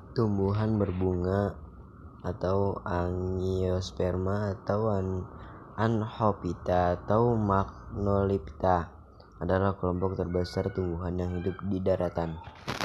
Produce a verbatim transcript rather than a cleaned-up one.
Tumbuhan berbunga atau Angiosperma atau Anhophyta atau Magnolipta adalah kelompok terbesar tumbuhan yang hidup di daratan.